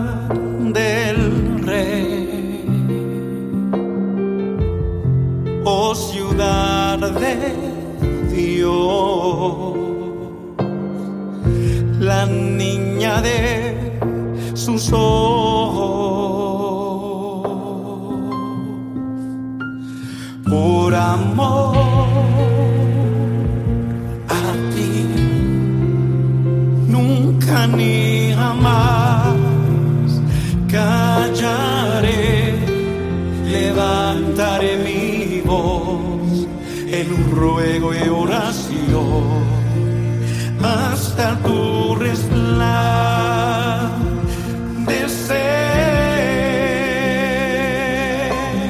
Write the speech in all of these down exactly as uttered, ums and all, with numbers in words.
del Rey, oh ciudad de Dios, la niña de sus ojos, por amor a ti, nunca ni jamás callaré, levantaré mi voz en un ruego y oración hasta tu resplandecer.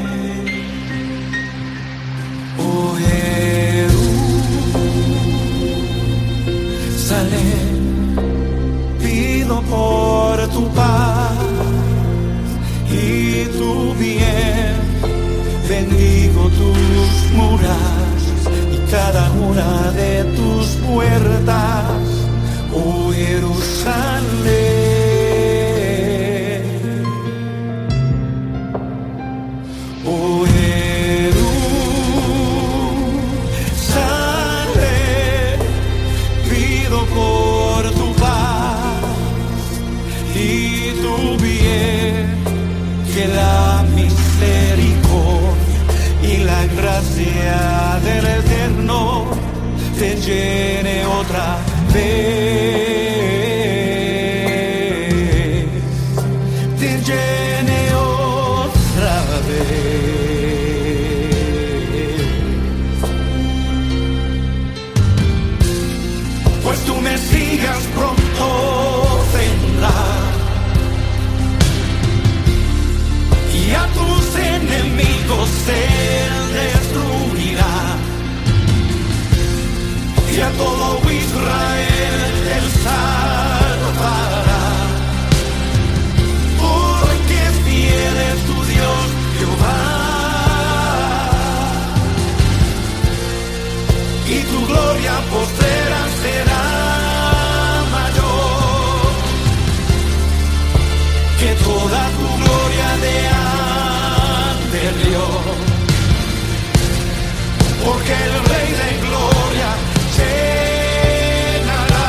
Oh Jerusalén, pido por tu paz y tu bien, bendigo tus murallas y cada una de tus puertas, oh Jerusalén. Oh Jerusalén, pido por tu paz y tu bien, que la misericordia y la gracia del Eterno te llene otra vez, te llene otra vez. Pues tu Mesías pronto vendrá y a tus enemigos él destruirá, y a todo Israel él salvará, porque fiel es tu Dios Jehová, y tu gloria postrera será mayor que toda tu gloria de anterior, porque el Rey de gloria llenará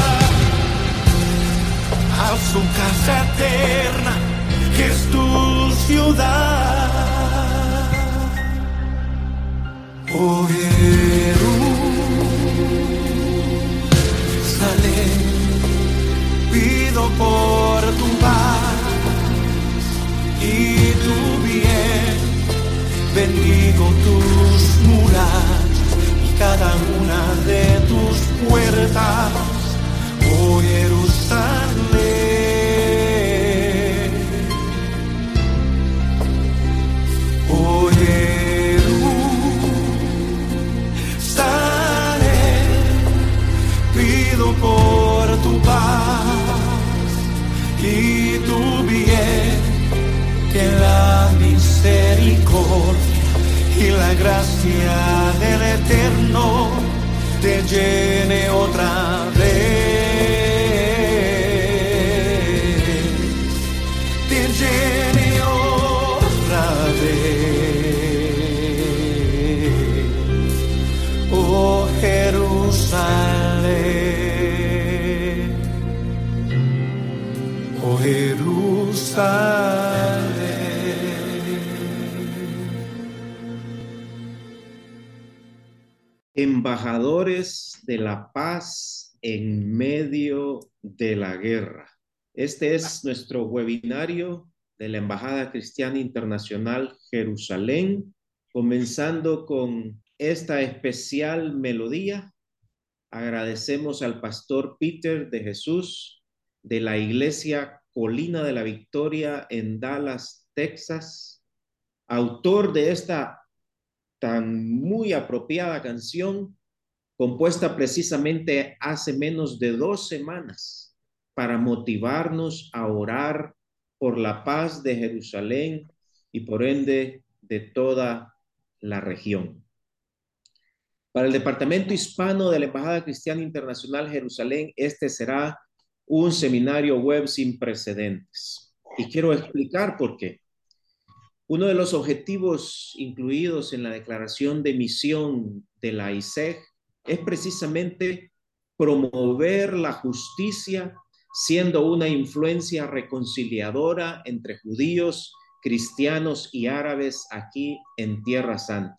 a su casa eterna, que es tu ciudad. Oh Jerusalén, pido por tu paz y tu bien, bendigo tus murallas y cada una de tus puertas, oh Jerusalén. Oh Jerusalén, pido por tu paz y tu bien, que la misericordia y la gracia del Eterno te llene otra vez, te llene otra vez, oh Jerusalén, oh Jerusalén. Embajadores de la paz en medio de la guerra. Este es nuestro webinario de la Embajada Cristiana Internacional Jerusalén, comenzando con esta especial melodía. Agradecemos al pastor Peter de Jesús de la Iglesia Colina de la Victoria en Dallas, Texas, autor de esta tan muy apropiada canción, compuesta precisamente hace menos de dos semanas para motivarnos a orar por la paz de Jerusalén y por ende de toda la región. Para el Departamento Hispano de la Embajada Cristiana Internacional Jerusalén, este será un seminario web sin precedentes. Y quiero explicar por qué. Uno de los objetivos incluidos en la declaración de misión de la I S E G es precisamente promover la justicia, siendo una influencia reconciliadora entre judíos, cristianos y árabes aquí en Tierra Santa.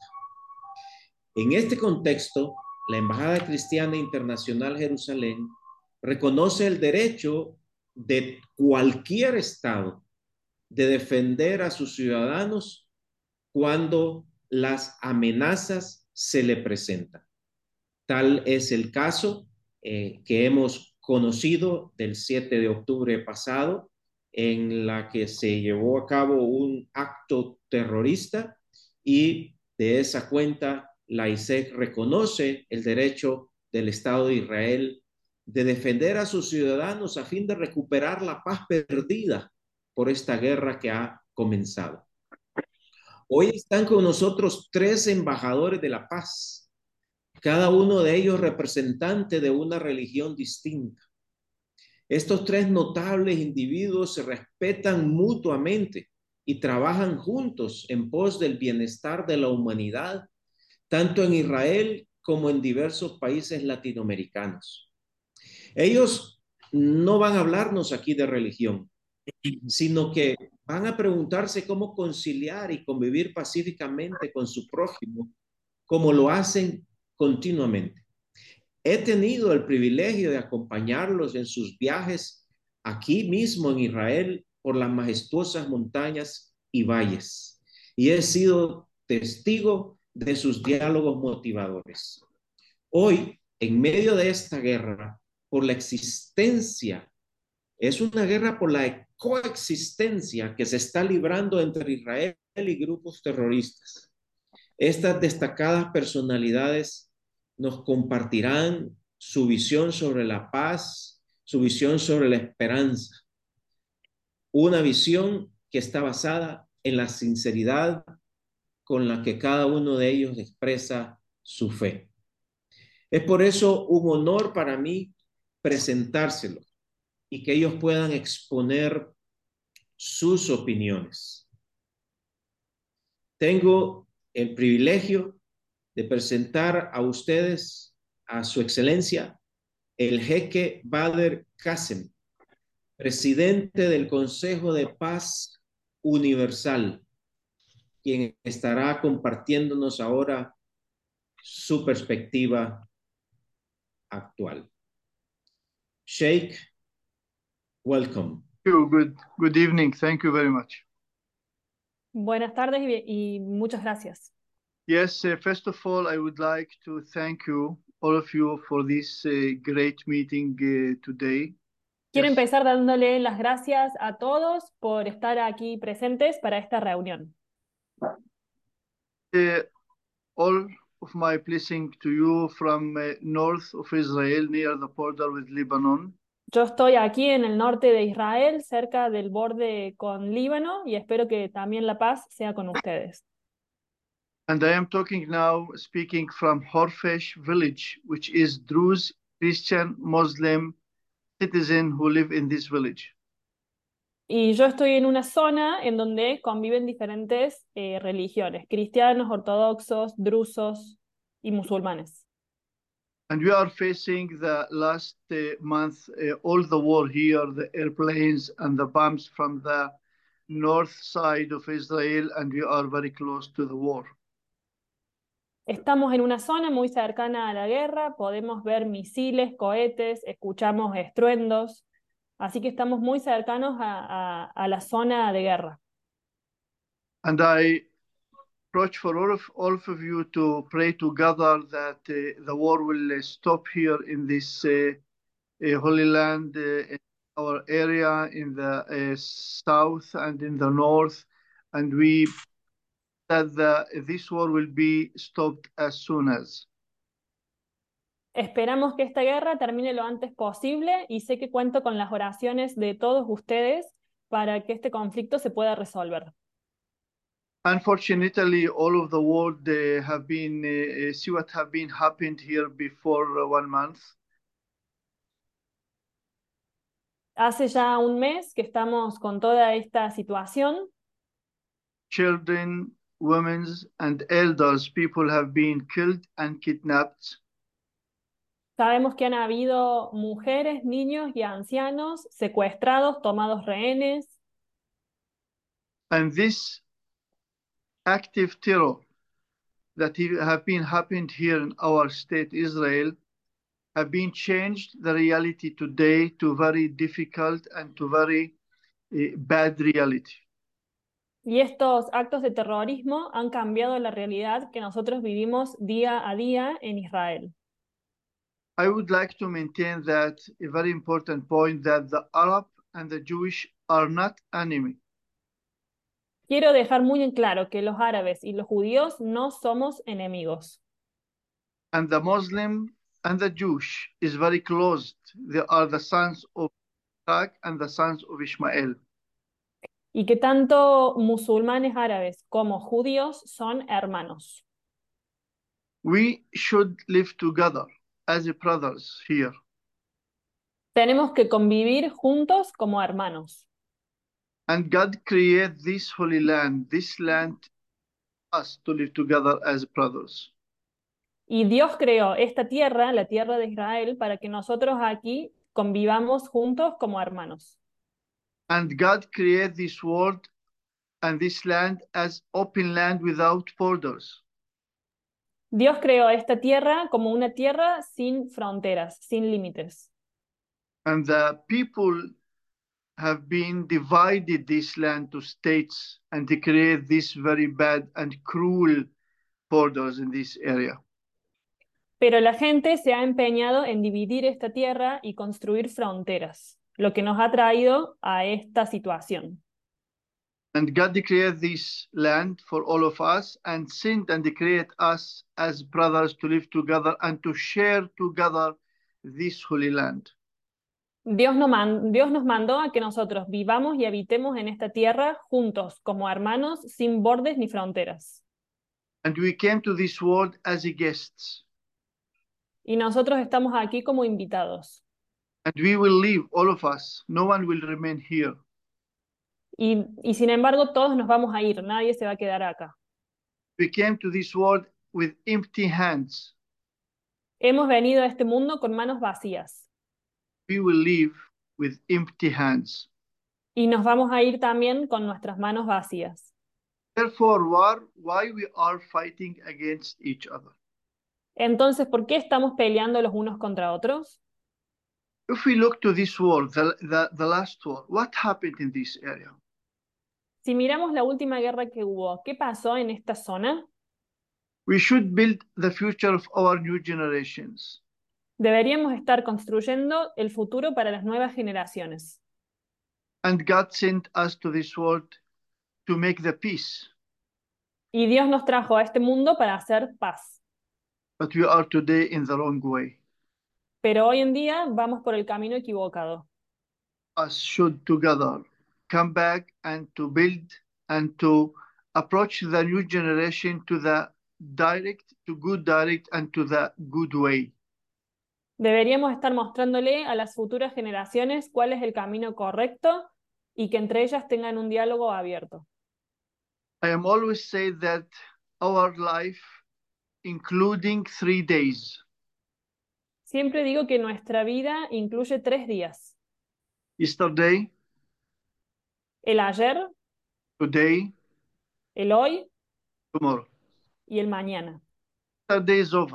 En este contexto, la Embajada Cristiana Internacional Jerusalén reconoce el derecho de cualquier Estado de defender a sus ciudadanos cuando las amenazas se le presentan. Tal es el caso eh, que hemos conocido del siete de octubre pasado, en la que se llevó a cabo un acto terrorista y de esa cuenta la I S E C reconoce el derecho del Estado de Israel de defender a sus ciudadanos a fin de recuperar la paz perdida por esta guerra que ha comenzado. Hoy están con nosotros tres embajadores de la paz, cada uno de ellos representante de una religión distinta. Estos tres notables individuos se respetan mutuamente y trabajan juntos en pos del bienestar de la humanidad, tanto en Israel como en diversos países latinoamericanos. Ellos no van a hablarnos aquí de religión, sino que van a preguntarse cómo conciliar y convivir pacíficamente con su prójimo, como lo hacen continuamente. He tenido el privilegio de acompañarlos en sus viajes aquí mismo en Israel por las majestuosas montañas y valles, y he sido testigo de sus diálogos motivadores. Hoy, en medio de esta guerra, por la existencia, es una guerra por la coexistencia que se está librando entre Israel y grupos terroristas. Estas destacadas personalidades nos compartirán su visión sobre la paz, su visión sobre la esperanza, una visión que está basada en la sinceridad con la que cada uno de ellos expresa su fe. Es por eso un honor para mí presentárselo y que ellos puedan exponer sus opiniones. Tengo el privilegio de presentar a ustedes a su excelencia el jeque Bader Qasem, presidente del Consejo de Paz Universal, quien estará compartiéndonos ahora su perspectiva actual. Sheikh, welcome. Good, good evening. Thank you very much. Buenas tardes y, y muchas gracias. Yes, uh, first of all, I would like to thank you, all of you, for this uh, great meeting uh, today. Quiero Yes. empezar dándole las gracias a todos por estar aquí presentes para esta reunión. Uh, all of my blessing to you from uh, north of Israel, near the border with Lebanon. Yo estoy aquí en el norte de Israel, cerca del borde con Líbano, y espero que también la paz sea con ustedes. And I am talking now, speaking from Horfesh village, which is Druze, Christian, Muslim citizen who live in this village. Y yo estoy en una zona en donde conviven diferentes eh, religiones, cristianos, ortodoxos, drusos y musulmanes. And we are facing the last uh, month, uh, all the war here, the airplanes and the bombs from the north side of Israel, and we are very close to the war. Estamos en una zona muy cercana a la guerra, podemos ver misiles, cohetes, escuchamos estruendos, así que estamos muy cercanos a, a, a la zona de guerra. And I approach for all of, all of you to pray together that uh, the war will uh, stop here in this uh, uh, Holy Land, uh, in our area, in the uh, south and in the north, and we that the, this war will be stopped as soon as. Esperamos que esta guerra termine lo antes posible y sé que cuento con las oraciones de todos ustedes para que este conflicto se pueda resolver. Unfortunately, all of the world uh, have been uh, see what have been happened here before uh, one month. Hace ya un mes que estamos con toda esta situación. Children, women, and elders, people have been killed and kidnapped. Sabemos que han habido mujeres, niños y ancianos secuestrados, tomados rehenes. And this active terror that have been happened here in our state, Israel, have been changed the reality today to very difficult and to very uh, bad reality. Y estos actos de terrorismo han cambiado la realidad que nosotros vivimos día a día en Israel. I would like to maintain that a very important point that the Arab and the Jewish are not enemy. Quiero dejar muy en claro que los árabes y los judíos no somos enemigos. And the Muslim and the Jewish is very close. They are the sons of Isaac and the sons of Ishmael. Y que tanto musulmanes árabes como judíos son hermanos. We should live together as brothers here. Tenemos que convivir juntos como hermanos. And God created this holy land, this land, us to live together as brothers. Y Dios creó esta tierra, la tierra de Israel, para que nosotros aquí convivamos juntos como hermanos. And God created this world and this land as open land without borders. Dios creó esta tierra como una tierra sin fronteras, sin límites. And the people have been divided this land to states and they create this very bad and cruel borders in this area. Pero la gente se ha empeñado en dividir esta tierra y construir fronteras, lo que nos ha traído a esta situación. And God created this land for all of us and sent and created us as brothers to live together and to share together this holy land. Dios nos, man- Dios nos mandó a que nosotros vivamos y habitemos en esta tierra juntos, como hermanos, sin bordes ni fronteras. And we came to this world as guests. Y nosotros estamos aquí como invitados. And we will leave, all of us. No one will remain here. Y, y sin embargo, todos nos vamos a ir, nadie se va a quedar acá. We came to this world with empty hands. Hemos venido a este mundo con manos vacías. We will leave with empty hands. Y nos vamos a ir también con nuestras manos vacías. Therefore, war, why we are fighting against each other? Entonces, ¿por qué estamos peleando los unos contra otros? If we look to this war, the, the, the last war, what happened in this area? Si miramos la última guerra que hubo, ¿qué pasó en esta zona? We should build the future of our new generations. Deberíamos estar construyendo el futuro para las nuevas generaciones. And God sent us to this world to make the peace. Y Dios nos trajo a este mundo para hacer paz. But we are today in the wrong way. Pero hoy en día vamos por el camino equivocado. Us should together come back and to build and to approach the new generation to the direct, to good direct and to the good way. Deberíamos estar mostrándole a las futuras generaciones cuál es el camino correcto y que entre ellas tengan un diálogo abierto. I am always say that our life, including three days, Siempre digo que nuestra vida incluye tres días. yesterday, El ayer, today, el hoy tomorrow. y el mañana. Yesterday is over.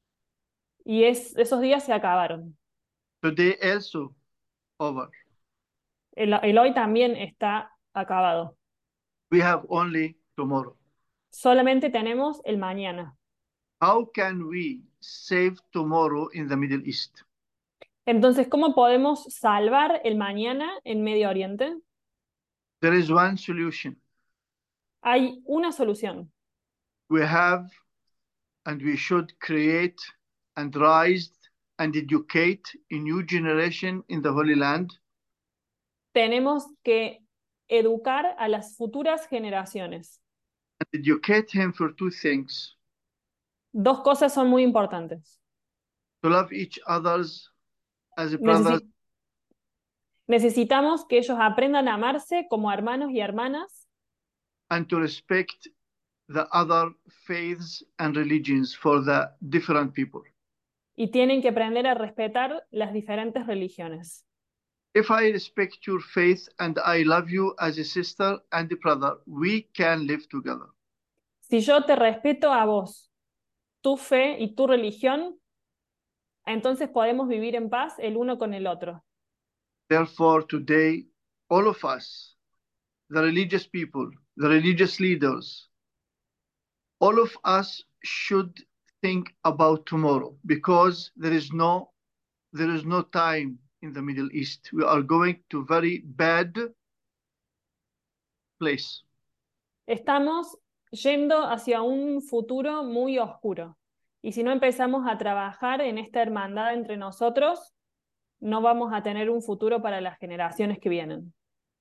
Y es, esos días se acabaron. Today also over. El, el hoy también está acabado. We have only tomorrow. Solamente tenemos el mañana. How can we save tomorrow in the Middle East? Entonces, ¿cómo podemos salvar el mañana en Medio Oriente? There is one solution. Hay una solución. We have and we should create and rise and educate a new generation in the Holy Land. Tenemos que educar a las futuras generaciones. And educate him for two things. Dos cosas son muy importantes. To love each others as brothers. Necesi- Necesitamos que ellos aprendan a amarse como hermanos y hermanas and to respect the other faiths and religions for the different people. y tienen que aprender a respetar las diferentes religiones. If I respect your faith and I love you as a sister and a brother, we can live together. Si yo te respeto a vos, tu fe y tu religión, entonces podemos vivir en paz el uno con el otro. Therefore, today, all of us, the religious people, the religious leaders, all of us should think about tomorrow, because there is no, there is no time in the Middle East. We are going to very bad place. Estamos yendo hacia un futuro muy oscuro. Y si no empezamos a trabajar en esta hermandad entre nosotros, no vamos a tener un futuro para las generaciones que vienen.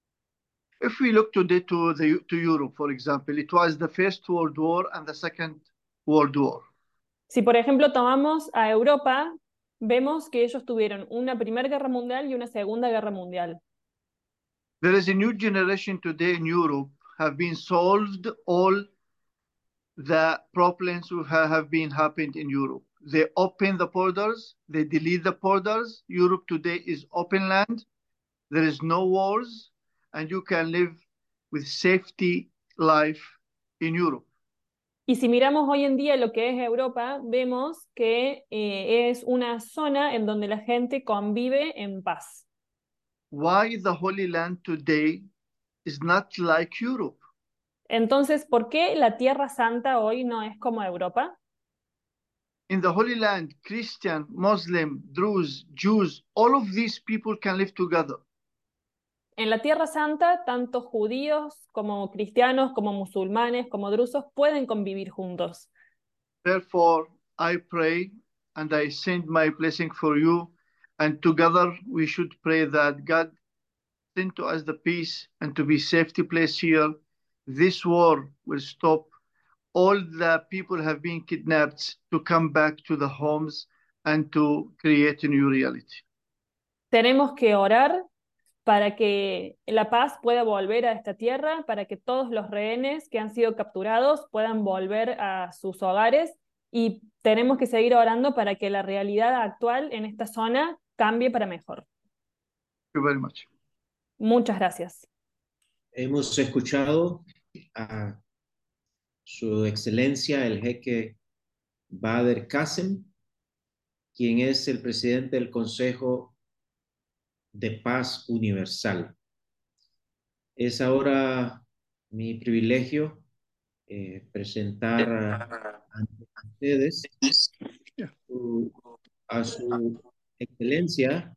If we look today to, the, to Europe, for example, it was the First World War and the Second World War. Si por ejemplo tomamos a Europa, vemos que ellos tuvieron una Primera Guerra Mundial y una Segunda Guerra Mundial. There is a new generation today in Europe have been solved all the problems who have been happened in Europe. They open the borders, they delete the borders. Europe today is open land. There is no wars, and you can live with safety life in Europe. Y si miramos hoy en día lo que es Europa, vemos que eh, es una zona en donde la gente convive en paz. Why the Holy Land today is not like Europe? Entonces, ¿por qué la Tierra Santa hoy no es como Europa? In the Holy Land, Christian, Muslim, Druze, Jews, all of these people can live together. En la Tierra Santa, tanto judíos como cristianos, como musulmanes, como drusos pueden convivir juntos. Therefore, I pray and I send my blessing for you, and together we should pray that God send to us the peace and to be safety place here. This war will stop. All the people have been kidnapped to come back to the homes and to create a new reality. Tenemos que orar para que la paz pueda volver a esta tierra, para que todos los rehenes que han sido capturados puedan volver a sus hogares, y tenemos que seguir orando para que la realidad actual en esta zona cambie para mejor. Thank you very much. Muchas gracias. Hemos escuchado a Su Excelencia el Jeque Bader Qasem, quien es el presidente del Consejo de Paz Universal. Es ahora mi privilegio eh, presentar a, a ustedes su, a su excelencia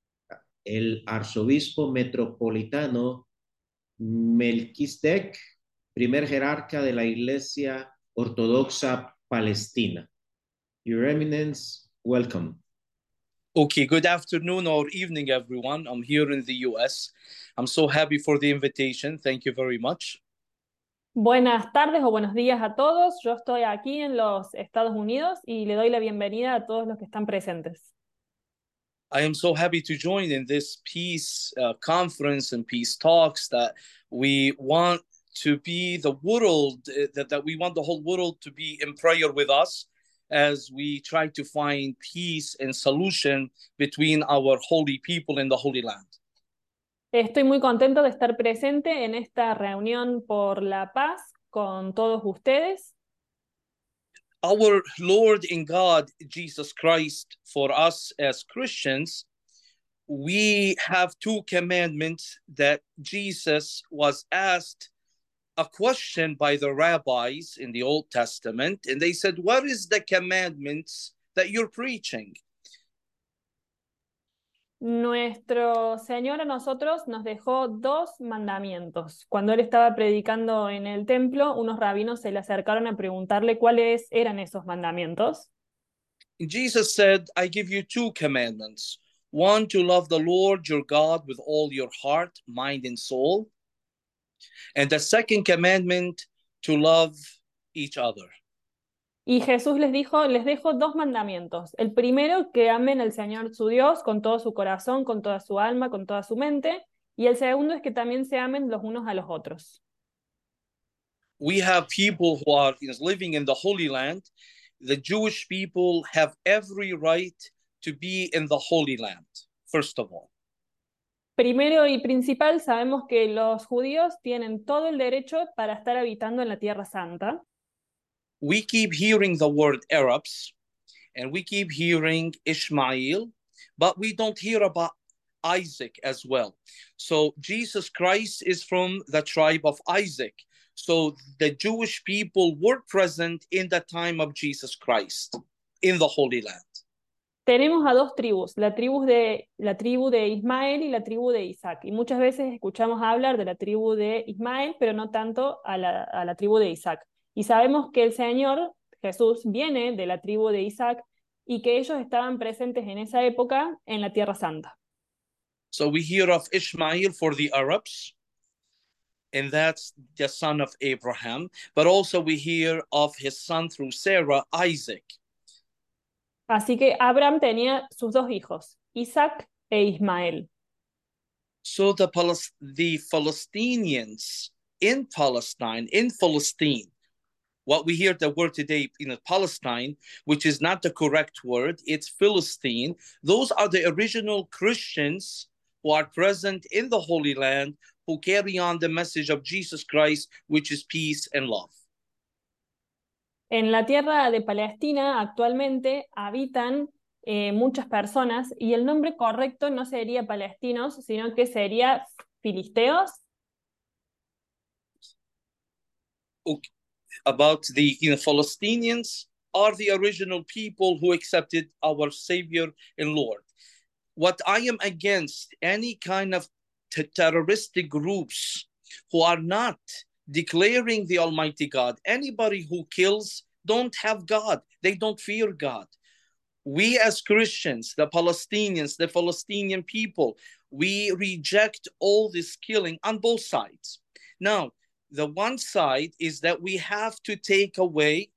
el arzobispo metropolitano Melquisedec, primer jerarca de la Iglesia Ortodoxa Palestina. Your Eminence, welcome. Okay, good afternoon or evening, everyone. I'm here in the U S. I'm so happy for the invitation. Thank you very much. Buenas tardes o buenos días a todos. Yo estoy aquí en los Estados Unidos y le doy la bienvenida a todos los que están presentes. I am so happy to join in this peace uh, conference and peace talks that we want to be the world, uh, that, that we want the whole world to be in prayer with us as we try to find peace and solution between our holy people in the Holy Land. Estoy muy contento de estar presente en esta reunión por la paz con todos ustedes. Our Lord and God, Jesus Christ, for us as Christians, we have two commandments that Jesus was asked a question by the rabbis in the Old Testament, and they said, what is the commandments that you're preaching? Nuestro Señor a nosotros nos dejó dos mandamientos. Cuando Él estaba predicando en el templo, unos rabinos se le acercaron a preguntarle cuáles eran esos mandamientos. Jesus said, I give you two commandments. One, to love the Lord your God with all your heart, mind, and soul. And the second commandment, to love each other. Y Jesús les dijo, les dejo dos mandamientos. El primero, que amen al Señor su Dios con todo su corazón, con toda su alma, con toda su mente. Y el segundo es que también se amen los unos a los otros. We have people who are living in the Holy Land. The Jewish people have every right to be in the Holy Land, first of all. Primero y principal, sabemos que los judíos tienen todo el derecho para estar habitando en la Tierra Santa. We keep hearing the word Arabs, and we keep hearing Ishmael, but we don't hear about Isaac as well. So Jesus Christ is from the tribe of Isaac. So the Jewish people were present in the time of Jesus Christ in the Holy Land. Tenemos a dos tribus, la tribu de, la tribu de Ismael y la tribu de Isaac. Y muchas veces escuchamos hablar de la tribu de Ismael, pero no tanto a la, a la tribu de Isaac. Y sabemos que el Señor, Jesús, viene de la tribu de Isaac y que ellos estaban presentes en esa época en la Tierra Santa. So we hear of Ishmael for the Arabs, and that's the son of Abraham, but also we hear of his son through Sarah, Isaac. Así que Abraham tenía sus dos hijos, Isaac e Ismael. So the, Palis- the Palestinians in Palestine, in Palestine, what we hear the word today in Palestine, which is not the correct word, it's Philistine. Those are the original Christians who are present in the Holy Land, who carry on the message of Jesus Christ, which is peace and love. En la tierra de Palestina actualmente habitan eh, muchas personas y el nombre correcto no sería palestinos, sino que sería filisteos. Okay. About the you know, Palestinians are the original people who accepted our Savior and Lord. What I am against any kind of t- terroristic groups who are not declaring the Almighty God. Anybody who kills don't have God. They don't fear God. We as Christians, the Palestinians, the Palestinian people, we reject all this killing on both sides. Now, the one side is that we have to take away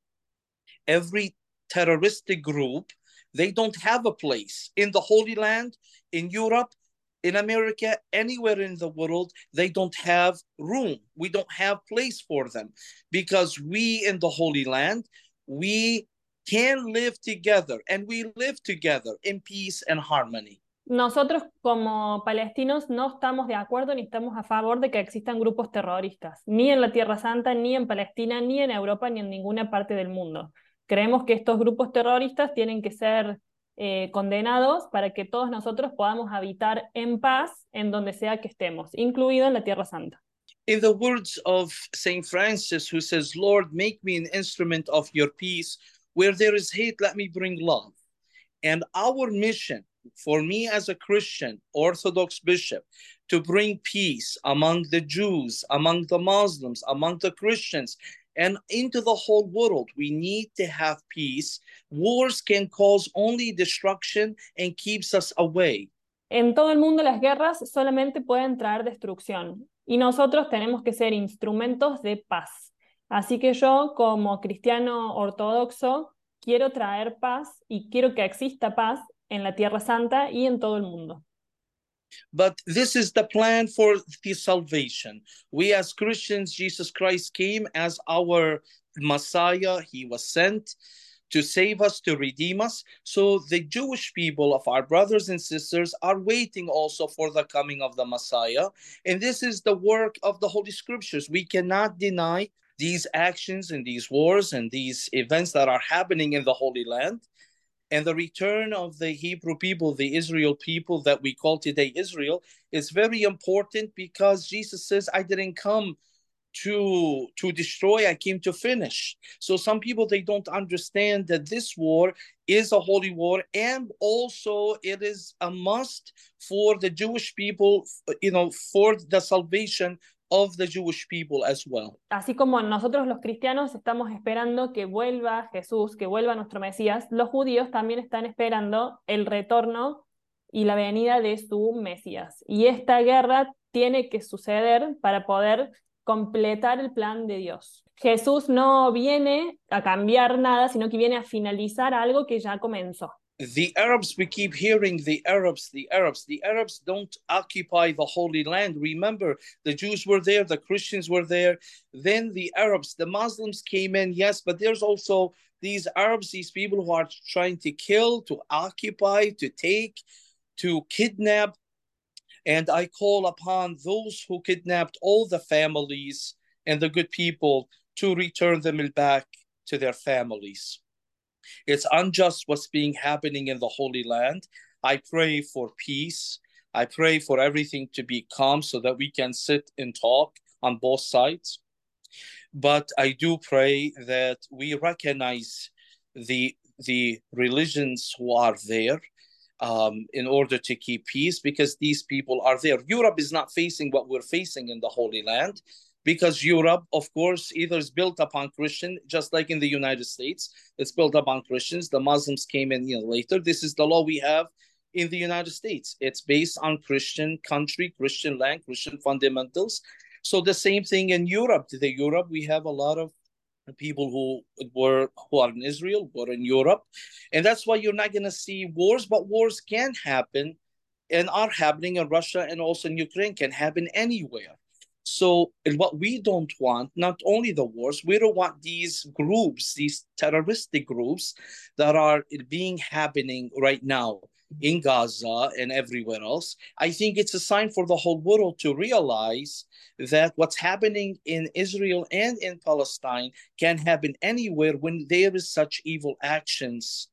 every terroristic group. They don't have a place in the Holy Land, in Europe, in America, anywhere in the world. They don't have room. We don't have place for them because we in the Holy Land, we can live together and we live together in peace and harmony. Nosotros como palestinos no estamos de acuerdo ni estamos a favor de que existan grupos terroristas, ni en la Tierra Santa, ni en Palestina, ni en Europa, ni en ninguna parte del mundo. Creemos que estos grupos terroristas tienen que ser eh, condenados para que todos nosotros podamos habitar en paz en donde sea que estemos, incluido en la Tierra Santa. In the words of Saint Francis, who says, Lord, make me an instrument of your peace. Where there is hate, let me bring love. And our mission, for me as a Christian, Orthodox bishop, to bring peace among the Jews, among the Muslims, among the Christians, and into the whole world. We need to have peace. Wars can cause only destruction and keeps us away. En todo el mundo las guerras solamente pueden traer destrucción y nosotros tenemos que ser instrumentos de paz. Así que yo, como cristiano ortodoxo, quiero traer paz y quiero que exista paz en la Tierra Santa y en todo el mundo. But this is the plan for the salvation. We as Christians, Jesus Christ came as our Messiah. He was sent to save us, to redeem us. So the Jewish people of our brothers and sisters are waiting also for the coming of the Messiah. And this is the work of the Holy Scriptures. We cannot deny these actions and these wars and these events that are happening in the Holy Land. And the return of the Hebrew people, the Israel people that we call today Israel, is very important because Jesus says, I didn't come to, to destroy, I came to finish. So some people, they don't understand that this war is a holy war, and also it is a must for the Jewish people, you know, for the salvation of the Jewish people as well. Así como nosotros los cristianos estamos esperando que vuelva Jesús, que vuelva nuestro Mesías, los judíos también están esperando el retorno y la venida de su Mesías. Y esta guerra tiene que suceder para poder completar el plan de Dios. Jesús no viene a cambiar nada, sino que viene a finalizar algo que ya comenzó. The Arabs, we keep hearing the Arabs, the Arabs. The Arabs don't occupy the Holy Land. Remember, the Jews were there, the Christians were there. Then the Arabs, the Muslims came in, yes, but there's also these Arabs, these people who are trying to kill, to occupy, to take, to kidnap. And I call upon those who kidnapped all the families and the good people to return them back to their families. It's unjust what's being happening in the Holy Land. I pray for peace. I pray for everything to be calm so that we can sit and talk on both sides. But I do pray that we recognize the, the religions who are there um, in order to keep peace, because these people are there. Europe is not facing what we're facing in the Holy Land, because Europe, of course, either is built upon Christian, just like in the United States, it's built upon Christians. The Muslims came in, you know, later. This is the law we have in the United States. It's based on Christian country, Christian land, Christian fundamentals. So the same thing in Europe. The Europe, we have a lot of people who were who are in Israel, who are in Europe, and that's why you're not going to see wars. But wars can happen, and are happening in Russia and also in Ukraine. Can happen anywhere. So what we don't want, not only the wars, we don't want these groups, these terroristic groups that are being happening right now in Gaza and everywhere else. I think it's a sign for the whole world to realize that what's happening in Israel and in Palestine can happen anywhere when there is such evil actions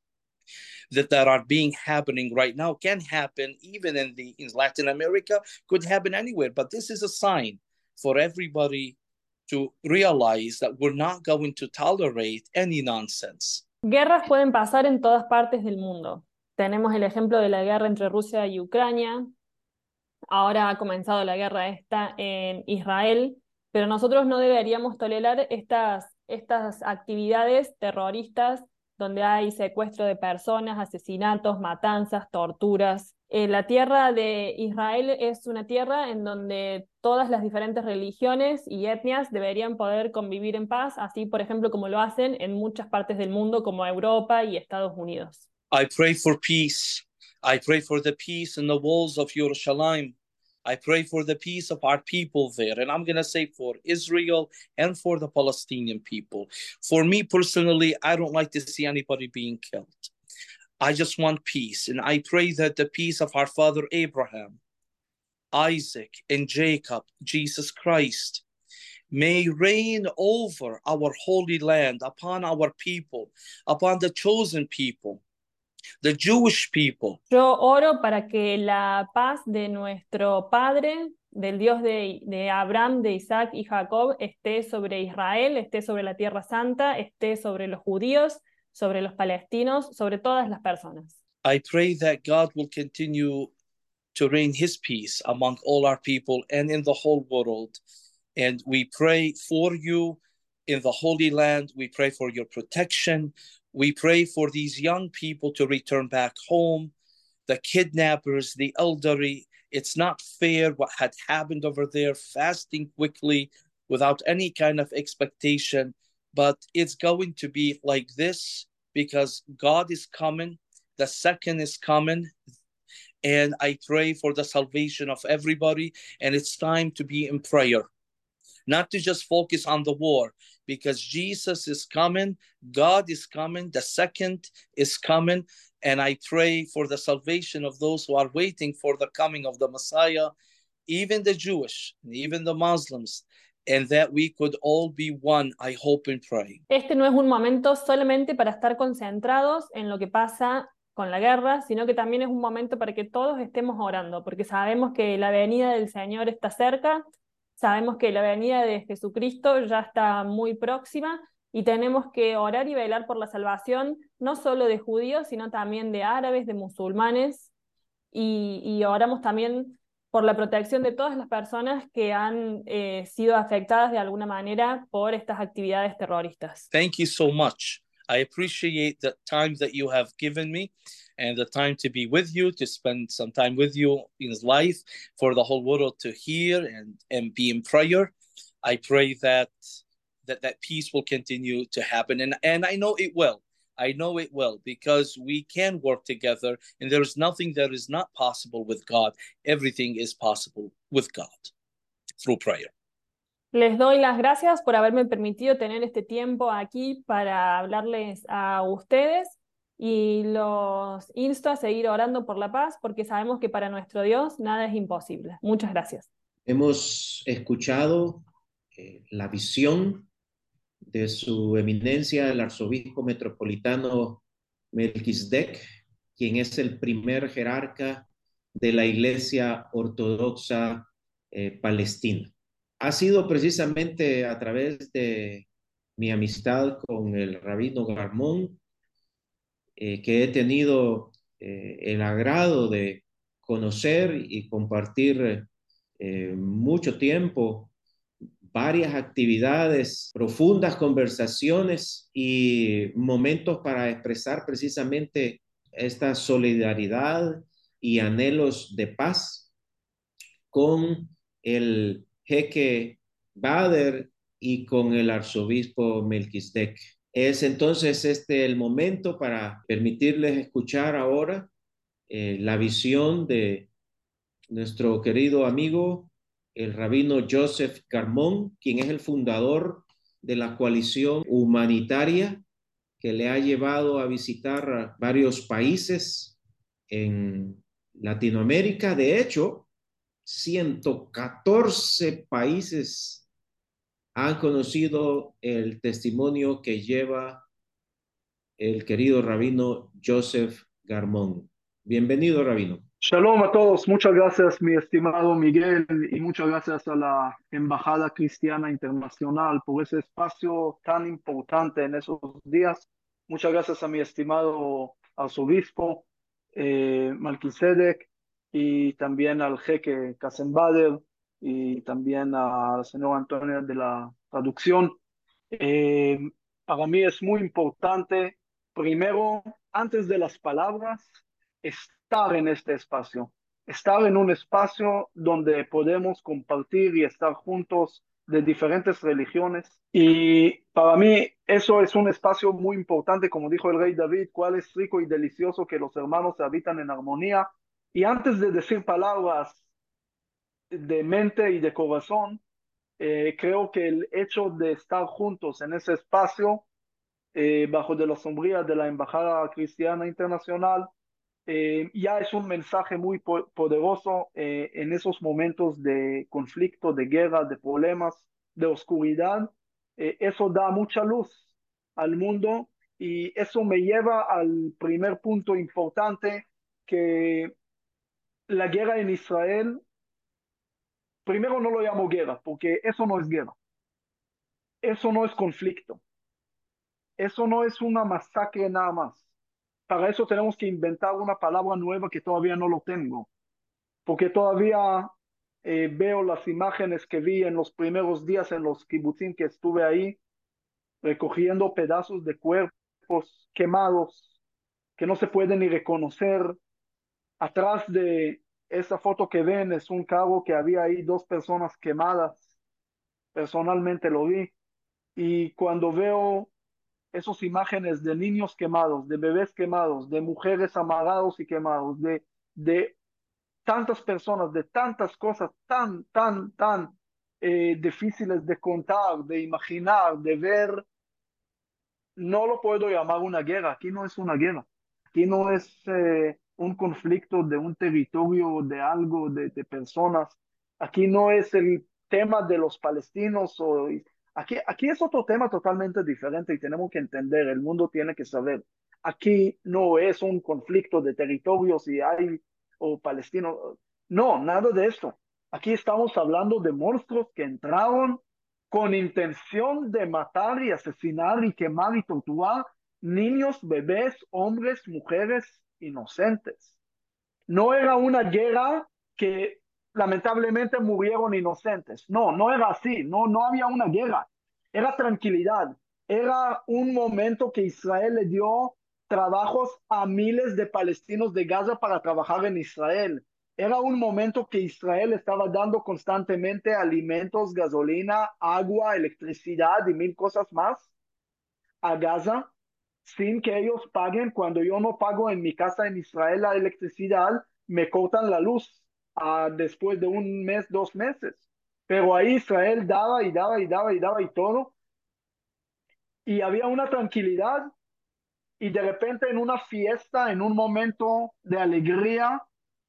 that, that are being happening right now. Can happen even in the in Latin America, could happen anywhere. But this is a sign for everybody to realize that we're not going to tolerate any nonsense. Guerras pueden pasar en todas partes del mundo. Tenemos el ejemplo de la guerra entre Rusia y Ucrania. Ahora ha comenzado la guerra esta en Israel, pero nosotros no deberíamos tolerar estas, estas actividades terroristas donde hay secuestro de personas, asesinatos, matanzas, torturas. Eh, la tierra de Israel es una tierra en donde todas las diferentes religiones y etnias deberían poder convivir en paz, así por ejemplo como lo hacen en muchas partes del mundo como Europa y Estados Unidos. I pray for peace. I pray for the peace in the walls of Yerushalayim. I pray for the peace of our people there. And I'm going to say for Israel and for the Palestinian people. For me personally, I don't like to see anybody being killed. I just want peace. And I pray that the peace of our father Abraham, Isaac, and Jacob, Jesus Christ, may reign over our holy land, upon our people, upon the chosen people, the Jewish people. Yo oro para que la paz de nuestro Padre, del Dios de, de Abraham, de Isaac y Jacob, esté sobre Israel, esté sobre la Tierra Santa, esté sobre los judíos, sobre los palestinos, sobre todas las personas. I pray that God will continue to reign his peace among all our people and in the whole world. And we pray for you in the Holy Land. We pray for your protection. We pray for these young people to return back home, the kidnappers, the elderly. It's not fair what had happened over there, fasting quickly without any kind of expectation. But it's going to be like this because God is coming. The second is coming. And I pray for the salvation of everybody. And it's time to be in prayer, not to just focus on the war, because Jesus is coming, God is coming, the second is coming, and I pray for the salvation of those who are waiting for the coming of the Messiah, even the Jewish, even the Muslims, and that we could all be one, I hope and pray. Este no es un momento solamente para estar concentrados en lo que pasa con la guerra, sino que también es un momento para que todos estemos orando, porque sabemos que la venida del Señor está cerca. Sabemos que la venida de Jesucristo ya está muy próxima y tenemos que orar y velar por la salvación no solo de judíos, sino también de árabes, de musulmanes, y, y oramos también por la protección de todas las personas que han eh, sido afectadas de alguna manera por estas actividades terroristas. Thank you so much. I appreciate the time that you have given me and the time to be with you, to spend some time with you in life, for the whole world to hear and, and be in prayer. I pray that that that peace will continue to happen, and and I know it will. I know it will, because we can work together, and there is nothing that is not possible with God. Everything is possible with God through prayer. Les doy las gracias por haberme permitido tener este tiempo aquí para hablarles a ustedes, y los insto a seguir orando por la paz, porque sabemos que para nuestro Dios nada es imposible. Muchas gracias. Hemos escuchado eh, la visión de su eminencia, el arzobispo metropolitano Melquisedec, quien es el primer jerarca de la Iglesia Ortodoxa eh, Palestina. Ha sido precisamente a través de mi amistad con el rabino Garmón eh, que he tenido eh, el agrado de conocer y compartir eh, mucho tiempo, varias actividades, profundas conversaciones y momentos para expresar precisamente esta solidaridad y anhelos de paz con el jeque Bader y con el arzobispo Melquisedec. Es entonces este el momento para permitirles escuchar ahora eh, la visión de nuestro querido amigo, el rabino Joseph Garmón, quien es el fundador de la coalición humanitaria que le ha llevado a visitar varios países en Latinoamérica. De hecho, ciento catorce países han conocido el testimonio que lleva el querido rabino Joseph Garmón. Bienvenido, rabino. Shalom a todos, muchas gracias mi estimado Miguel, y muchas gracias a la Embajada Cristiana Internacional por ese espacio tan importante en esos días. Muchas gracias a mi estimado arzobispo eh, Melquisedec, y también al jeque Qasem Bader, y también al señor Antonio de la traducción. Eh, para mí es muy importante, primero, antes de las palabras, estar en este espacio, estar en un espacio donde podemos compartir y estar juntos de diferentes religiones. Y para mí eso es un espacio muy importante, como dijo el rey David, cuál es rico y delicioso que los hermanos habitan en armonía. Y antes de decir palabras de mente y de corazón, eh, creo que el hecho de estar juntos en ese espacio, eh, bajo de la sombría de la Embajada Cristiana Internacional, eh, ya es un mensaje muy po poderoso eh, en esos momentos de conflicto, de guerra, de problemas, de oscuridad. Eh, eso da mucha luz al mundo, y eso me lleva al primer punto importante, que la guerra en Israel, primero no lo llamo guerra, porque eso no es guerra, eso no es conflicto, eso no es una masacre nada más. Para eso tenemos que inventar una palabra nueva que todavía no lo tengo, porque todavía eh, veo las imágenes que vi en los primeros días en los kibutzim que estuve ahí, recogiendo pedazos de cuerpos quemados que no se pueden ni reconocer. Atrás de esa foto que ven es un carro que había ahí dos personas quemadas. Personalmente lo vi. Y cuando veo esas imágenes de niños quemados, de bebés quemados, de mujeres amarrados y quemados, de, de tantas personas, de tantas cosas tan, tan, tan eh, difíciles de contar, de imaginar, de ver, no lo puedo llamar una guerra. Aquí no es una guerra. Aquí no es eh, un conflicto de un territorio, de algo, de, de personas. Aquí no es el tema de los palestinos. O, aquí, aquí es otro tema totalmente diferente, y tenemos que entender, el mundo tiene que saber. Aquí no es un conflicto de territorios y hay o palestinos. No, nada de esto. Aquí estamos hablando de monstruos que entraron con intención de matar y asesinar y quemar y torturar niños, bebés, hombres, mujeres inocentes. No era una guerra que lamentablemente murieron inocentes. No, no era así. No, no había una guerra. Era tranquilidad. Era un momento que Israel le dio trabajos a miles de palestinos de Gaza para trabajar en Israel. Era un momento que Israel estaba dando constantemente alimentos, gasolina, agua, electricidad y mil cosas más a Gaza sin que ellos paguen. Cuando yo no pago en mi casa en Israel la electricidad, me cortan la luz uh, después de un mes, dos meses. Pero ahí Israel daba y daba y daba y daba y todo. Y había una tranquilidad. Y de repente en una fiesta, en un momento de alegría,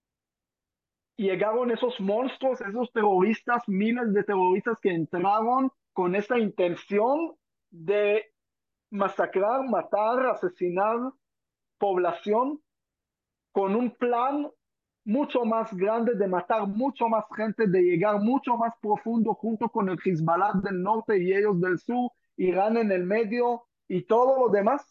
llegaron esos monstruos, esos terroristas, miles de terroristas que entraron con esa intención de masacrar, matar, asesinar población, con un plan mucho más grande de matar mucho más gente, de llegar mucho más profundo junto con el Hezbollah del norte y ellos del sur, Irán en el medio y todo lo demás.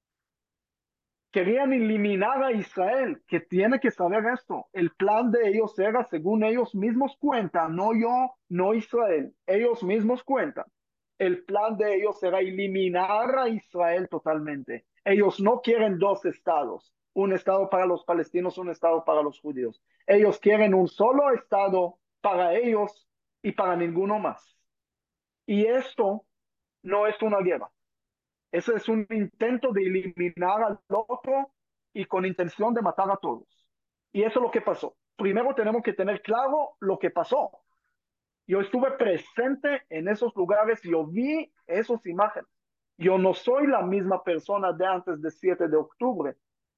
Querían eliminar a Israel, que tiene que saber esto. El plan de ellos era, según ellos mismos cuentan, no yo, no Israel, ellos mismos cuentan. El plan de ellos era eliminar a Israel totalmente. Ellos no quieren dos estados, un estado para los palestinos, un estado para los judíos. Ellos quieren un solo estado para ellos y para ninguno más. Y esto no es una guerra. Ese es un intento de eliminar al otro y con intención de matar a todos. Y eso es lo que pasó. Primero tenemos que tener claro lo que pasó. Yo estuve presente en esos lugares, yo vi esas imágenes. Yo no soy la misma persona de antes del siete de octubre,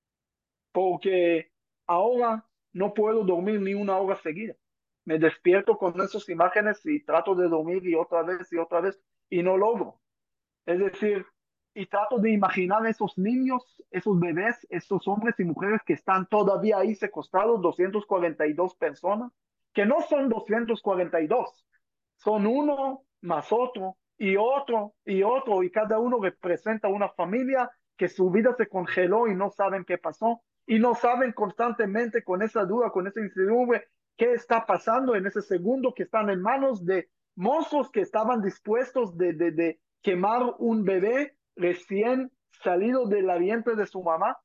porque ahora no puedo dormir ni una hora seguida. Me despierto con esas imágenes y trato de dormir y otra vez y otra vez y no logro. Es decir, y trato de imaginar esos niños, esos bebés, esos hombres y mujeres que están todavía ahí secuestrados, doscientas cuarenta y dos personas, que no son doscientos cuarenta y dos, son uno más otro y otro y otro, y cada uno representa una familia que su vida se congeló y no saben qué pasó, y no saben constantemente con esa duda, con esa incertidumbre, qué está pasando en ese segundo que están en manos de monstruos que estaban dispuestos de, de, de quemar un bebé recién salido del vientre de su mamá.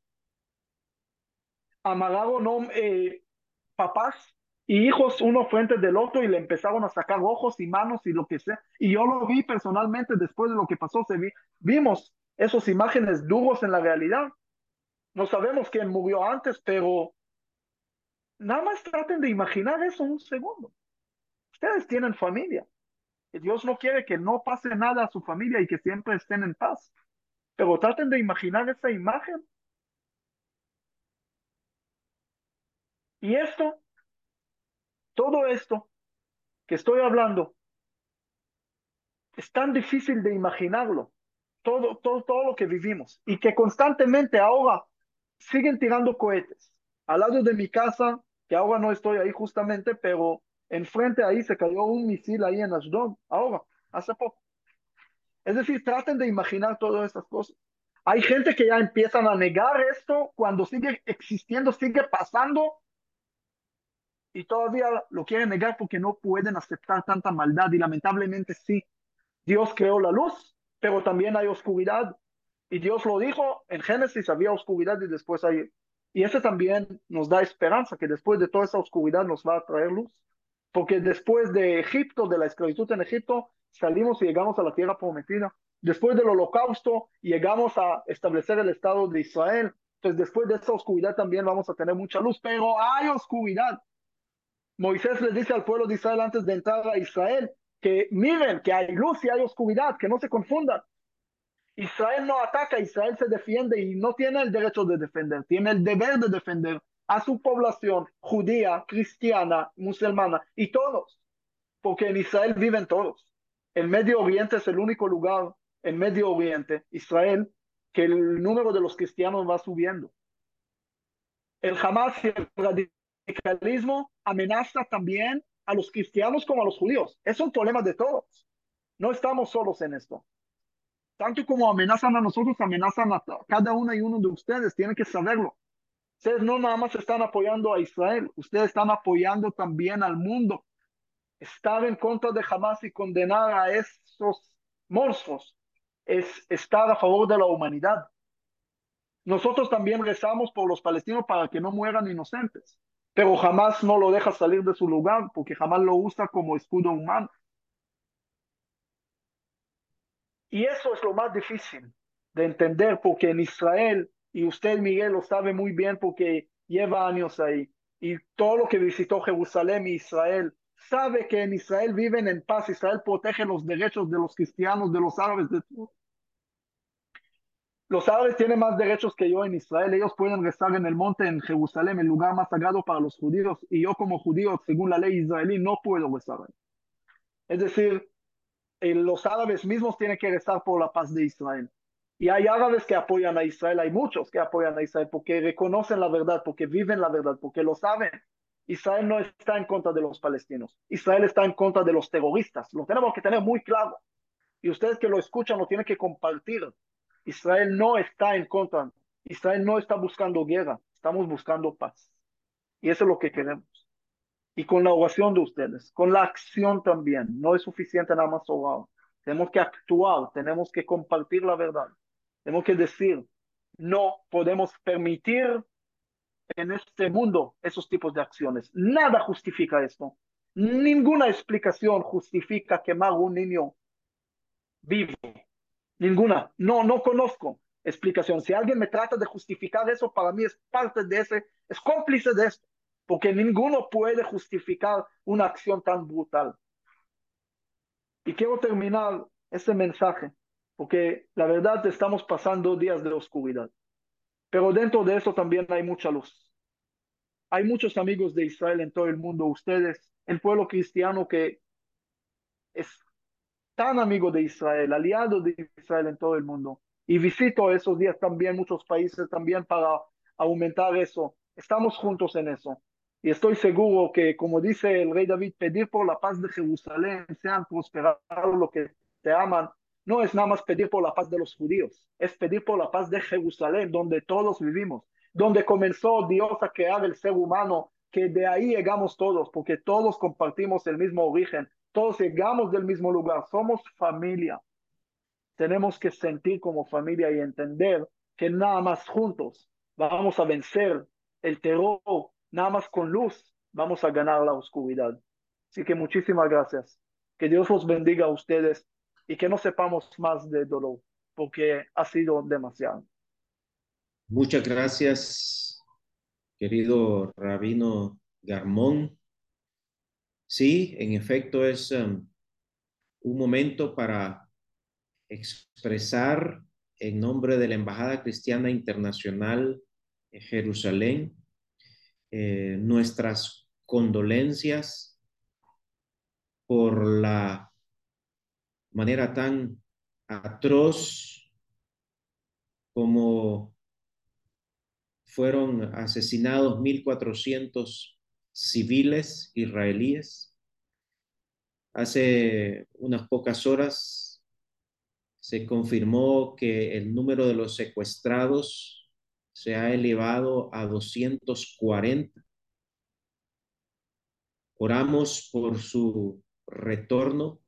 Amarraron ¿no? eh, papás y hijos uno frente del otro y le empezaron a sacar ojos y manos y lo que sea. Y yo lo vi personalmente después de lo que pasó. Se vi, vimos esas imágenes duros en la realidad. No sabemos quién murió antes, pero nada más traten de imaginar eso un segundo. Ustedes tienen familia. Dios no quiere que no pase nada a su familia y que siempre estén en paz. Pero traten de imaginar esa imagen. Y esto, todo esto que estoy hablando, es tan difícil de imaginarlo. Todo, todo, todo lo que vivimos. Y que constantemente ahora siguen tirando cohetes. Al lado de mi casa, que ahora no estoy ahí justamente, pero enfrente ahí se cayó un misil ahí en Ashdod, ahora, hace poco. Es decir, traten de imaginar todas estas cosas. Hay gente que ya empiezan a negar esto cuando sigue existiendo, sigue pasando, y todavía lo quieren negar porque no pueden aceptar tanta maldad. Y lamentablemente sí, Dios creó la luz, pero también hay oscuridad. Y Dios lo dijo, en Génesis había oscuridad y después hay... Y ese también nos da esperanza, que después de toda esa oscuridad nos va a traer luz. Porque después de Egipto, de la esclavitud en Egipto, salimos y llegamos a la tierra prometida. Después del holocausto, llegamos a establecer el Estado de Israel. Entonces, después de esa oscuridad también vamos a tener mucha luz, pero hay oscuridad. Moisés les dice al pueblo de Israel antes de entrar a Israel que miren que hay luz y hay oscuridad, que no se confundan. Israel no ataca, Israel se defiende y no tiene el derecho de defender, tiene el deber de defender a su población judía, cristiana, musulmana y todos, porque en Israel viven todos. El Medio Oriente es el único lugar, en Medio Oriente, Israel, que el número de los cristianos va subiendo. El Hamas y el radicalismo amenaza también a los cristianos como a los judíos. Es un problema de todos. No estamos solos en esto. Tanto como amenazan a nosotros, amenazan a cada uno y uno de ustedes. Tienen que saberlo. Ustedes no nada más están apoyando a Israel, ustedes están apoyando también al mundo. Estar en contra de Hamas y condenar a esos monstruos es estar a favor de la humanidad. Nosotros también rezamos por los palestinos para que no mueran inocentes, pero jamás no lo deja salir de su lugar porque jamás lo usa como escudo humano. Y eso es lo más difícil de entender, porque en Israel, y usted, Miguel, lo sabe muy bien porque lleva años ahí, y todo lo que visitó Jerusalén y Israel, sabe que en Israel viven en paz. Israel protege los derechos de los cristianos, de los árabes, de todo. Los árabes tienen más derechos que yo en Israel. Ellos pueden rezar en el monte en Jerusalén, el lugar más sagrado para los judíos, y yo como judío, según la ley israelí, no puedo rezar ahí. Es decir, eh, los árabes mismos tienen que rezar por la paz de Israel. Y hay árabes que apoyan a Israel, hay muchos que apoyan a Israel porque reconocen la verdad, porque viven la verdad, porque lo saben. Israel no está en contra de los palestinos. Israel está en contra de los terroristas. Lo tenemos que tener muy claro. Y ustedes que lo escuchan lo tienen que compartir. Israel no está en contra. Israel no está buscando guerra. Estamos buscando paz. Y eso es lo que queremos. Y con la oración de ustedes, con la acción también. No es suficiente nada más orar. Tenemos que actuar, tenemos que compartir la verdad. Tenemos que decir, no podemos permitir en este mundo esos tipos de acciones. Nada justifica esto. Ninguna explicación justifica quemar un niño vivo. Ninguna. No, no conozco explicación. Si alguien me trata de justificar eso, para mí es parte de ese, es cómplice de esto, porque ninguno puede justificar una acción tan brutal. Y quiero terminar este mensaje, porque la verdad estamos pasando días de oscuridad, pero dentro de eso también hay mucha luz. Hay muchos amigos de Israel en todo el mundo, ustedes, el pueblo cristiano que es tan amigo de Israel, aliado de Israel en todo el mundo. Y visito esos días también muchos países también para aumentar eso. Estamos juntos en eso. Y estoy seguro que, como dice el rey David, pedir por la paz de Jerusalén, sean prosperados los que te aman, no es nada más pedir por la paz de los judíos, es pedir por la paz de Jerusalén, donde todos vivimos, donde comenzó Dios a crear el ser humano, que de ahí llegamos todos, porque todos compartimos el mismo origen, todos llegamos del mismo lugar, somos familia. Tenemos que sentir como familia y entender que nada más juntos vamos a vencer el terror, nada más con luz vamos a ganar la oscuridad. Así que muchísimas gracias. Que Dios los bendiga a ustedes y que no sepamos más de dolor, porque ha sido demasiado. Muchas gracias, querido Rabino Garmón. Sí, en efecto es um, un momento para expresar en nombre de la Embajada Cristiana Internacional en Jerusalén eh, nuestras condolencias por la manera tan atroz como fueron asesinados mil cuatrocientos civiles israelíes. Hace unas pocas horas se confirmó que el número de los secuestrados se ha elevado a doscientos cuarenta. Oramos por su retorno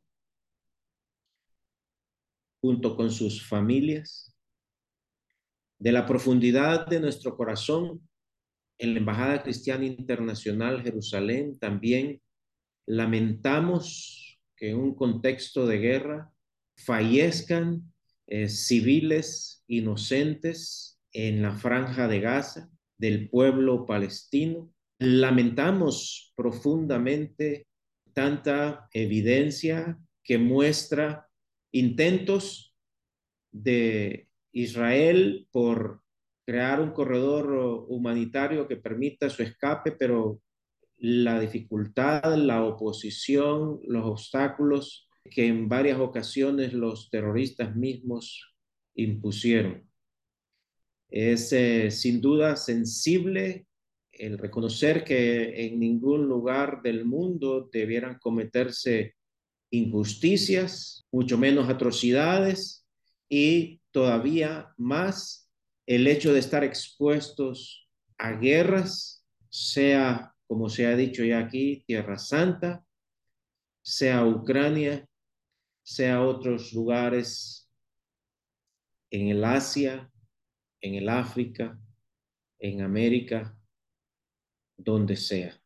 junto con sus familias. De la profundidad de nuestro corazón, en la Embajada Cristiana Internacional Jerusalén también lamentamos que en un contexto de guerra fallezcan eh, civiles inocentes en la franja de Gaza del pueblo palestino. Lamentamos profundamente tanta evidencia que muestra intentos de Israel por crear un corredor humanitario que permita su escape, pero la dificultad, la oposición, los obstáculos que en varias ocasiones los terroristas mismos impusieron. Es eh, sin duda sensible el reconocer que en ningún lugar del mundo debieran cometerse injusticias, mucho menos atrocidades, y todavía más el hecho de estar expuestos a guerras, sea, como se ha dicho ya aquí, Tierra Santa, sea Ucrania, sea otros lugares en el Asia, en el África, en América donde sea.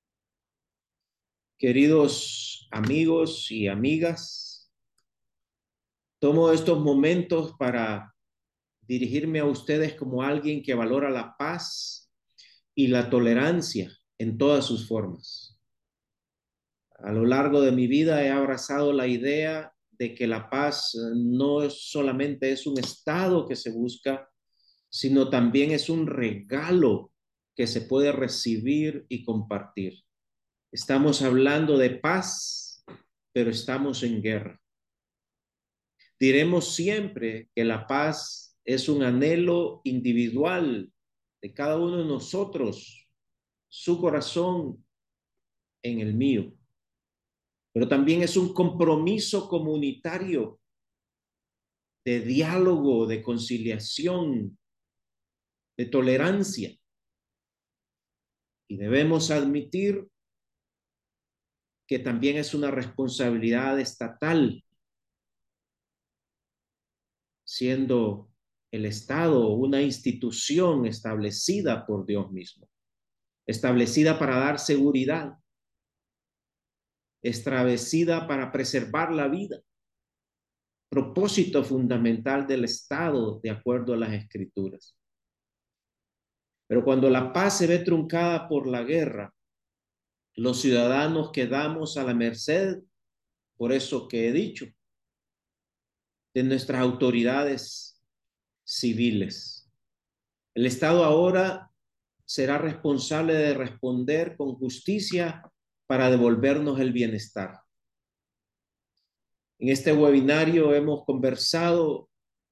Queridos amigos y amigas, tomo estos momentos para dirigirme a ustedes como alguien que valora la paz y la tolerancia en todas sus formas. A lo largo de mi vida he abrazado la idea de que la paz no solamente es un estado que se busca, sino también es un regalo que se puede recibir y compartir. Estamos hablando de paz, pero estamos en guerra. Diremos siempre que la paz es un anhelo individual de cada uno de nosotros, su corazón en el mío, pero también es un compromiso comunitario de diálogo, de conciliación, de tolerancia. Y debemos admitir que también es una responsabilidad estatal, siendo el Estado una institución establecida por Dios mismo, establecida para dar seguridad, establecida para preservar la vida, propósito fundamental del Estado de acuerdo a las Escrituras. Pero cuando la paz se ve truncada por la guerra, los ciudadanos quedamos a la merced, por eso que he dicho, de nuestras autoridades civiles. El Estado ahora será responsable de responder con justicia para devolvernos el bienestar. En este webinario hemos conversado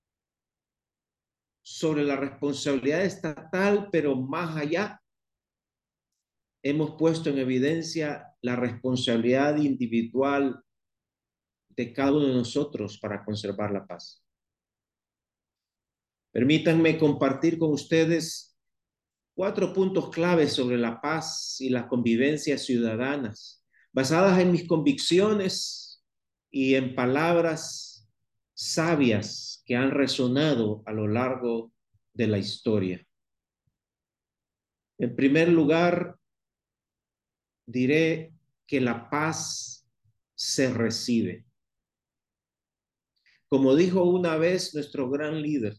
sobre la responsabilidad estatal, pero más allá hemos puesto en evidencia la responsabilidad individual de cada uno de nosotros para conservar la paz. Permítanme compartir con ustedes cuatro puntos claves sobre la paz y la convivencia ciudadanas, basadas en mis convicciones y en palabras sabias que han resonado a lo largo de la historia. En primer lugar, diré que la paz se recibe. Como dijo una vez nuestro gran líder,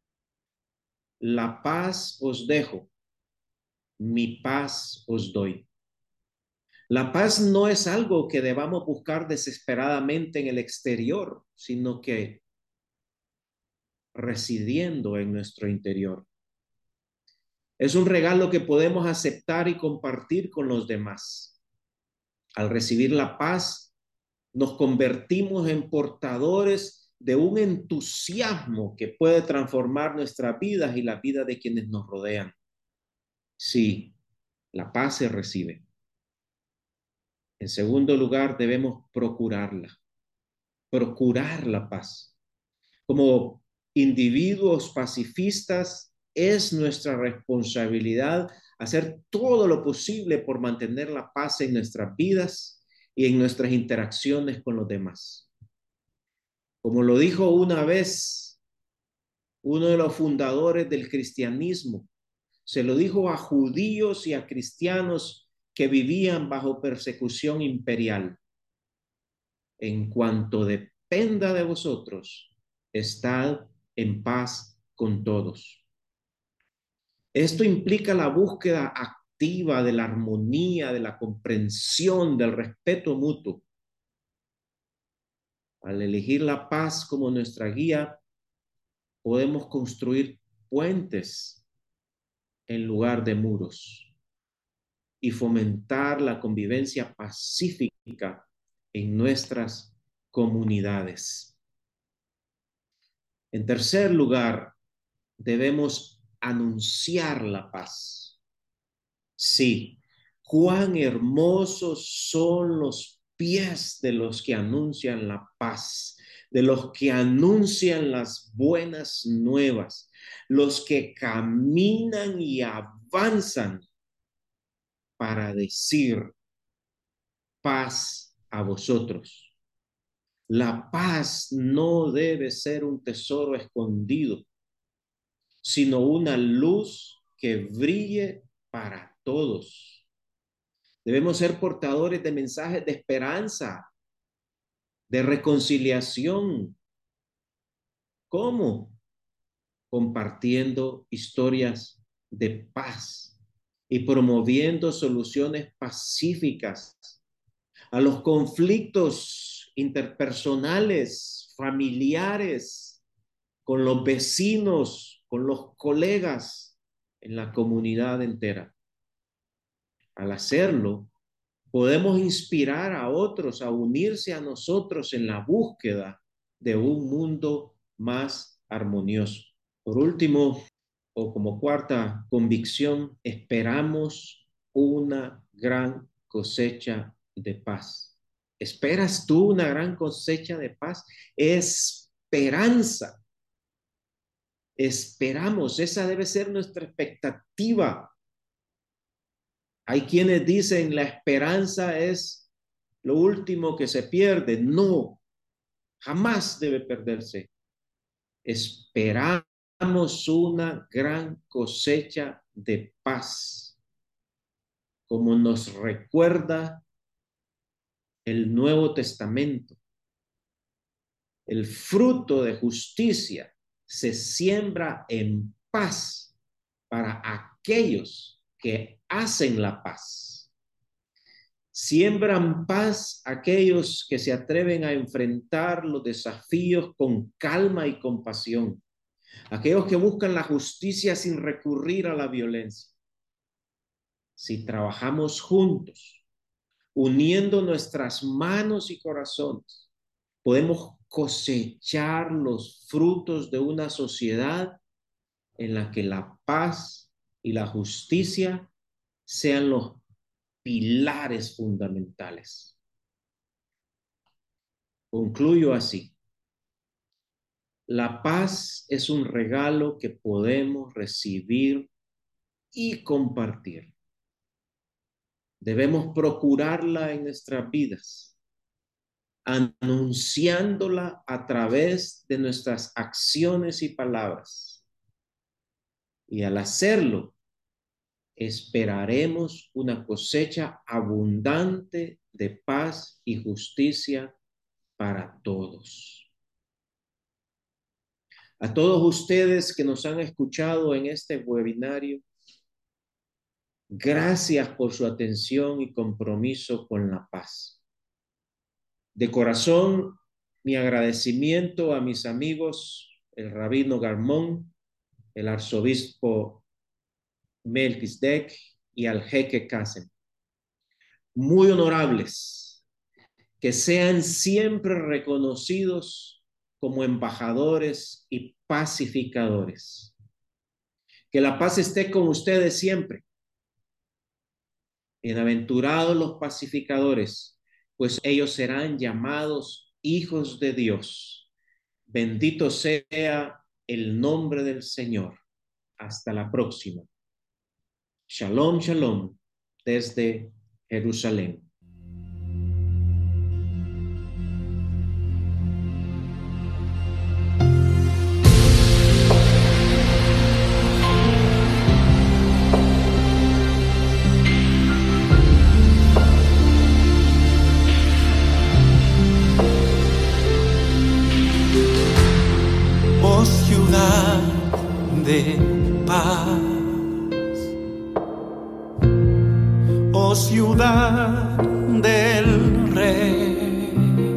la paz os dejo, mi paz os doy. La paz no es algo que debamos buscar desesperadamente en el exterior, sino que residiendo en nuestro interior. Es un regalo que podemos aceptar y compartir con los demás. Al recibir la paz, nos convertimos en portadores de un entusiasmo que puede transformar nuestras vidas y la vida de quienes nos rodean. Sí, la paz se recibe. En segundo lugar, debemos procurarla, procurar la paz. Como individuos pacifistas, es nuestra responsabilidad hacer todo lo posible por mantener la paz en nuestras vidas y en nuestras interacciones con los demás. Como lo dijo una vez uno de los fundadores del cristianismo, se lo dijo a judíos y a cristianos que vivían bajo persecución imperial. En cuanto dependa de vosotros, estad en paz con todos. Esto implica la búsqueda activa de la armonía, de la comprensión, del respeto mutuo. Al elegir la paz como nuestra guía, podemos construir puentes en lugar de muros y fomentar la convivencia pacífica en nuestras comunidades. En tercer lugar, debemos anunciar la paz. Sí, cuán hermosos son los pies de los que anuncian la paz, de los que anuncian las buenas nuevas, los que caminan y avanzan para decir paz a vosotros. La paz no debe ser un tesoro escondido, sino una luz que brille para todos. Debemos ser portadores de mensajes de esperanza, de reconciliación. ¿Cómo? Compartiendo historias de paz y promoviendo soluciones pacíficas a los conflictos interpersonales, familiares, con los vecinos, con los colegas, en la comunidad entera. Al hacerlo, podemos inspirar a otros a unirse a nosotros en la búsqueda de un mundo más armonioso. Por último, o como cuarta convicción, esperamos una gran cosecha de paz. ¿Esperas tú una gran cosecha de paz? Esperanza. Esperamos, esa debe ser nuestra expectativa. Hay quienes dicen la esperanza es lo último que se pierde. No, jamás debe perderse. Esperamos una gran cosecha de paz, como nos recuerda el Nuevo Testamento. El fruto de justicia se siembra en paz para aquellos que hacen la paz. Siembran paz aquellos que se atreven a enfrentar los desafíos con calma y compasión. Aquellos que buscan la justicia sin recurrir a la violencia. Si trabajamos juntos, uniendo nuestras manos y corazones, podemos cosechar los frutos de una sociedad en la que la paz y la justicia sean los pilares fundamentales. Concluyo así. La paz es un regalo que podemos recibir y compartir. Debemos procurarla en nuestras vidas, anunciándola a través de nuestras acciones y palabras. Y al hacerlo, esperaremos una cosecha abundante de paz y justicia para todos. A todos ustedes que nos han escuchado en este webinario, gracias por su atención y compromiso con la paz. De corazón, mi agradecimiento a mis amigos, el rabino Garmón, el arzobispo Melquisedec y al jeque Kassem. Muy honorables, que sean siempre reconocidos como embajadores y pacificadores. Que la paz esté con ustedes siempre. Bienaventurados los pacificadores, pues ellos serán llamados hijos de Dios. Bendito sea el nombre del Señor. Hasta la próxima. Shalom, shalom, desde Jerusalén. Oh ciudad de paz, oh ciudad del Rey,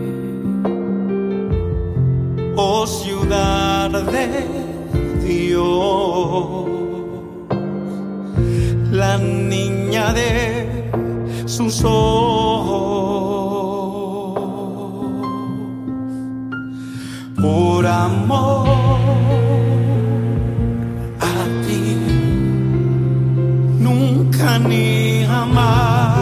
oh ciudad de Dios, la niña de sus ojos, por amor a ti, nunca ni jamás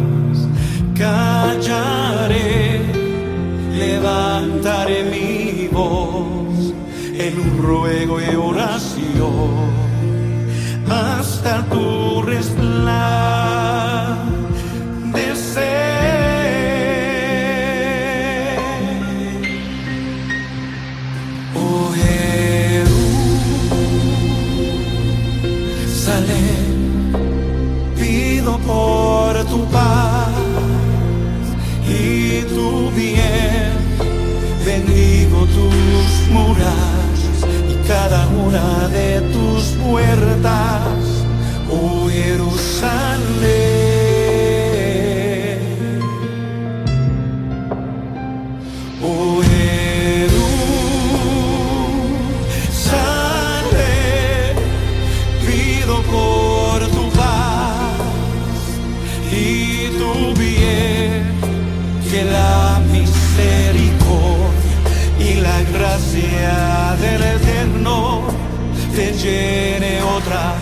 callaré, levantaré mi voz en un ruego y oración hasta tu resplandecer. Oh Jerusalén, pido por tu paz. bendigo tus murallas y cada una de tus puertas, oh Jerusalén. Oh Jerusalén, pido por tu paz y tu bien, que la misericordia y la gracia del Eterno te llene otra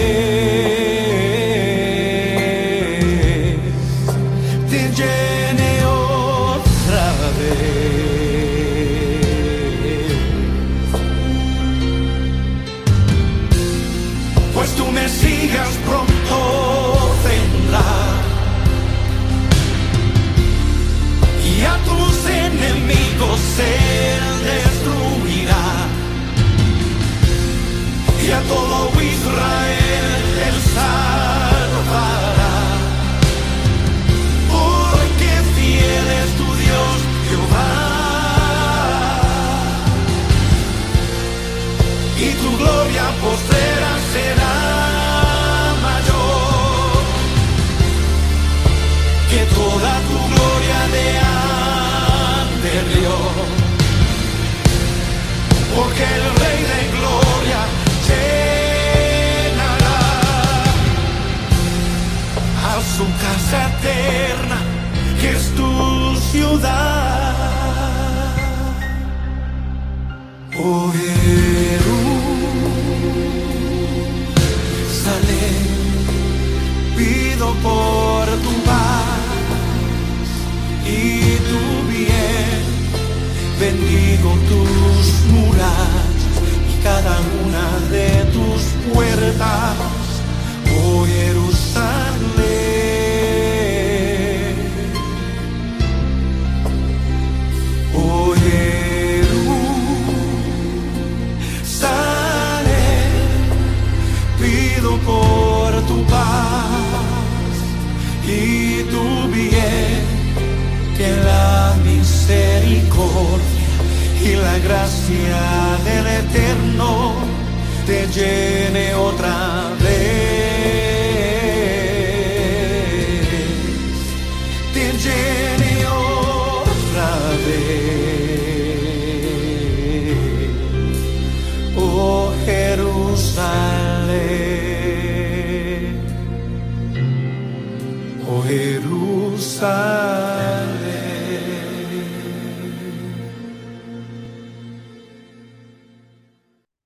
vez, te llene otra vez. Pues tu Mesías pronto vendrá y a tus enemigos él destruirá, y a todo Israel él salvará, porque fiel es tu Dios Jehová, y tu gloria postrera será mayor que toda tu gloria de anterior, porque el Rey de gloria llenará a su casa eterna, que es tu ciudad. Oh Jerusalén, pido por tu paz y tu bien, bendigo tus murallas y cada una de tus puertas, oh Jerusalén. Oh Jerusalén, pido por tu paz y tu bien, que la misericordia y la gracia del Eterno te llene otra vez, te llene otra vez, oh Jerusalén, oh Jerusalén.